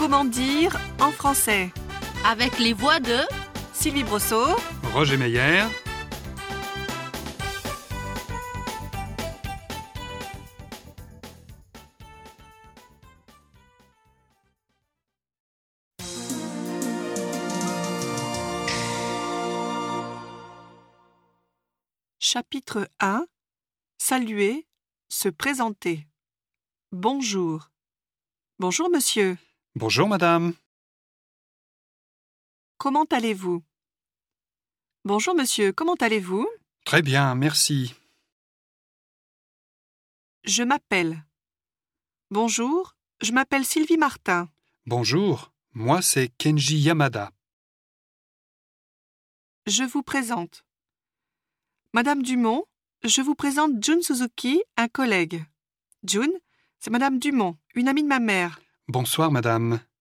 Comment dire en français? Avec les voix de Sylvie Brosseau, Roger Meyer. Chapitre 1. Saluer, se présenter. Bonjour. Bonjour monsieur. Bonjour madame. Comment allez-vous? Bonjour monsieur, comment allez-vous? Très bien, merci. Je m'appelle. Bonjour, je m'appelle Sylvie Martin. Bonjour, moi c'est Kenji Yamada. Je vous présente. Madame Dumont, je vous présente Jun Suzuki, un collègue. Jun, c'est Madame Dumont, une amie de ma mère. Bonsoir madame.